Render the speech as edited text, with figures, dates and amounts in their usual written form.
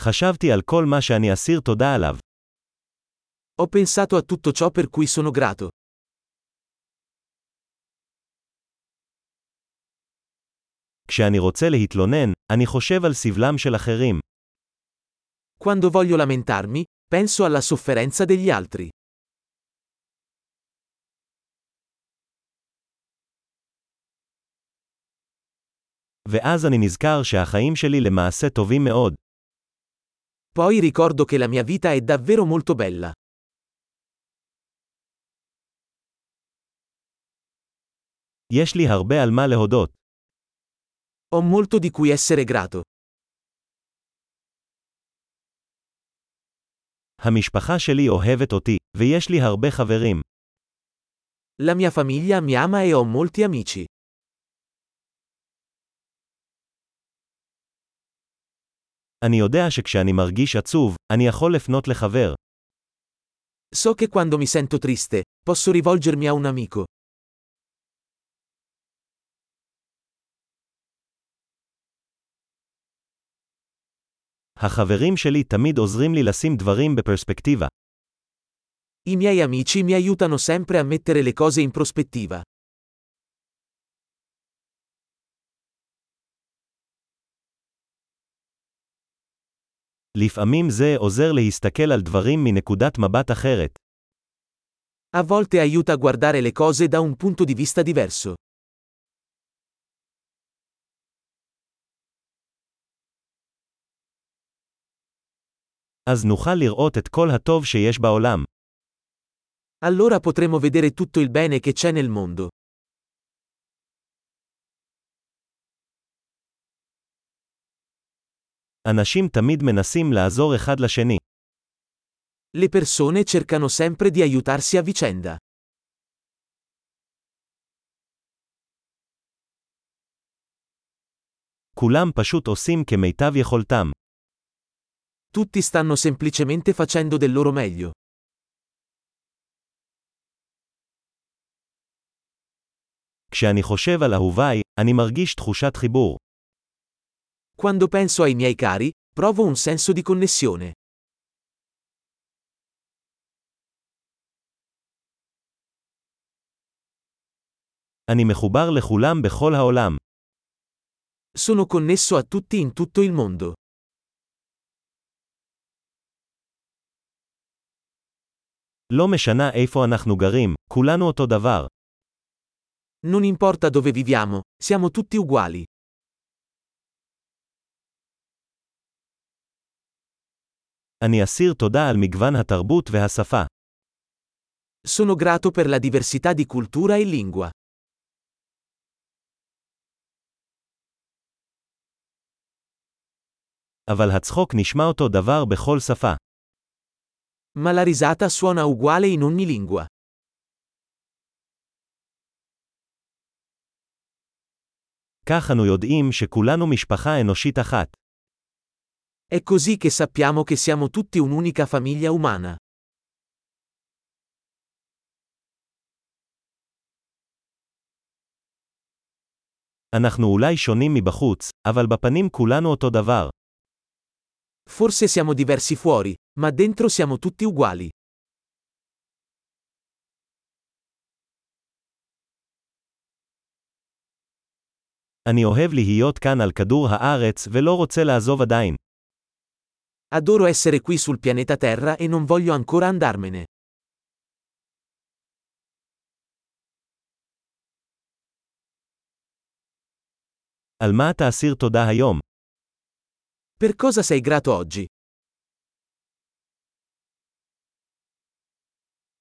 חשבתי על כל מה שאני אסיר תודה עליו. Ho pensato a tutto ciò per cui sono grato. כשאני רוצה להתלונן, אני חושב על סבלם של אחרים. Quando voglio lamentarmi, penso alla sofferenza degli altri. ואז אני נזכר שהחיים שלי למעשה טובים מאוד. Poi ricordo che la mia vita è davvero molto bella. יש לי הרבה על מה להודות. Ho molto di cui essere grato. המשפחה שלי אוהבת אותי, ויש לי הרבה חברים. La mia famiglia mi ama e ho molti amici. אני יודע שכשאני מרגיש עצוב, אני יכול לפנות לחבר. So che quando mi sento triste, posso rivolgermi a un amico. החברים שלי תמיד עוזרים לי לשים דברים בפרספקטיבה. I miei amici mi aiutano sempre a mettere le cose in prospettiva. לפעמים זה עוזר להסתכל על דברים מנקודת מבט אחרת. A volte aiuta a guardare le cose da un punto di vista diverso. אז נוכל לראות את כל הטוב שיש בעולם. Allora potremo vedere tutto il bene che c'è nel mondo. אנשים תמיד מנסים לעזור אחד לשני. Le persone cercano sempre di aiutarsi a vicenda. כולם פשוט עושים כמיטב יכולתם. Tutti stanno semplicemente facendo del loro meglio. כשאני חושב על אהוביי, אני מרגיש תחושת חיבור. Quando penso ai miei cari, provo un senso di connessione. אני מחובר לכולם בכל העולם. Sono connesso a tutti in tutto il mondo. לא משנה איפה אנחנו גרים, כולנו אותו דבר. Non importa dove viviamo, siamo tutti uguali. אני אסיר תודה על מגוון התרבות והשפה. Sono grato per la diversità di cultura e lingua. אבל הצחוק נשמע אותו דבר בכל שפה. Ma la risata suona uguale in ogni lingua. כך אנו יודעים שכולנו משפחה אנושית אחת. È così che sappiamo che siamo tutti un'unica famiglia umana. אנחנו אולי שונים מבחוץ, אבל בפנים כולנו אותו דבר. Forse siamo diversi fuori, ma dentro siamo tutti uguali. אני אוהב להיות כאן על כדור הארץ ולא רוצה לעזוב עדיין. Adoro essere qui sul pianeta Terra e non voglio ancora andarmene. על מה אתה אסיר תודה היום? Per cosa sei grato oggi?